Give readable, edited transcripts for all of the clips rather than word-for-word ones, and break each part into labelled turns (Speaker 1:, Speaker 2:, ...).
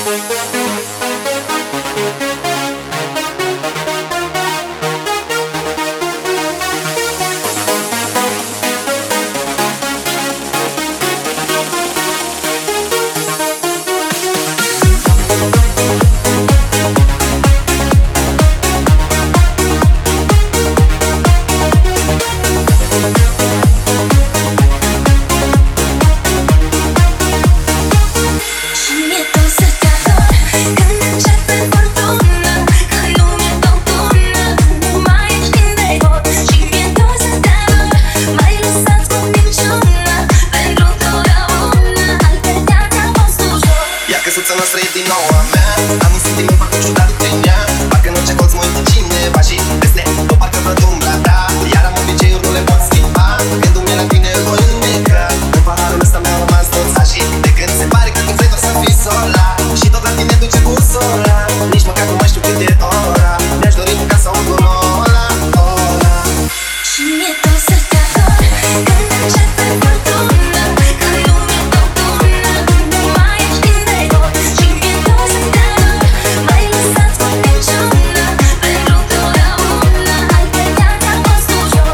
Speaker 1: Căsuța noastră e din nou a mea. Am un sentiment foarte ciudat de ea. Parcă în orice colț mă uite cineva și peste tot parcă văd umbra ta. Iar am obiceiuri, nu le pot schimba. Gândul-mi la tine îl voi înneca. În paharul ăsta mi-au rămas toți așa. De când se pare că tu vrei doar să fii sola și tot la tine duce busola. Nici măcar nu mai știu cât e ora. Mi-aș dori ca să aud un ola, ola.
Speaker 2: Și mie tot să te ador când începe furtuna, când lumea tot tună, nu mai ești din de tot. Și mie tot să te ador, m-ai lăsat cu niciuna, pentru totdeauna, altfel viața a fost ușor.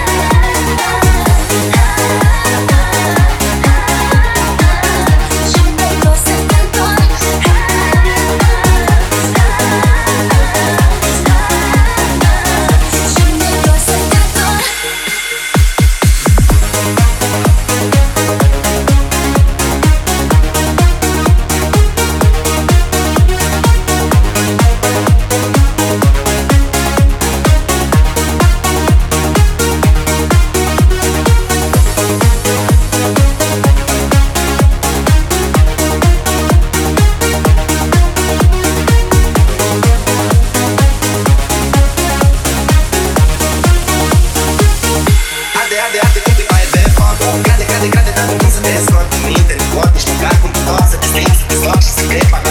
Speaker 2: Și mie tot să te ador, și mie tot să te ador.
Speaker 1: Arde cum pipaie de foc. Crede, dar nu cum să te scot. Minte, nu pot nici măcar cum te tot. Să te strâng, să te sloc și să te fac.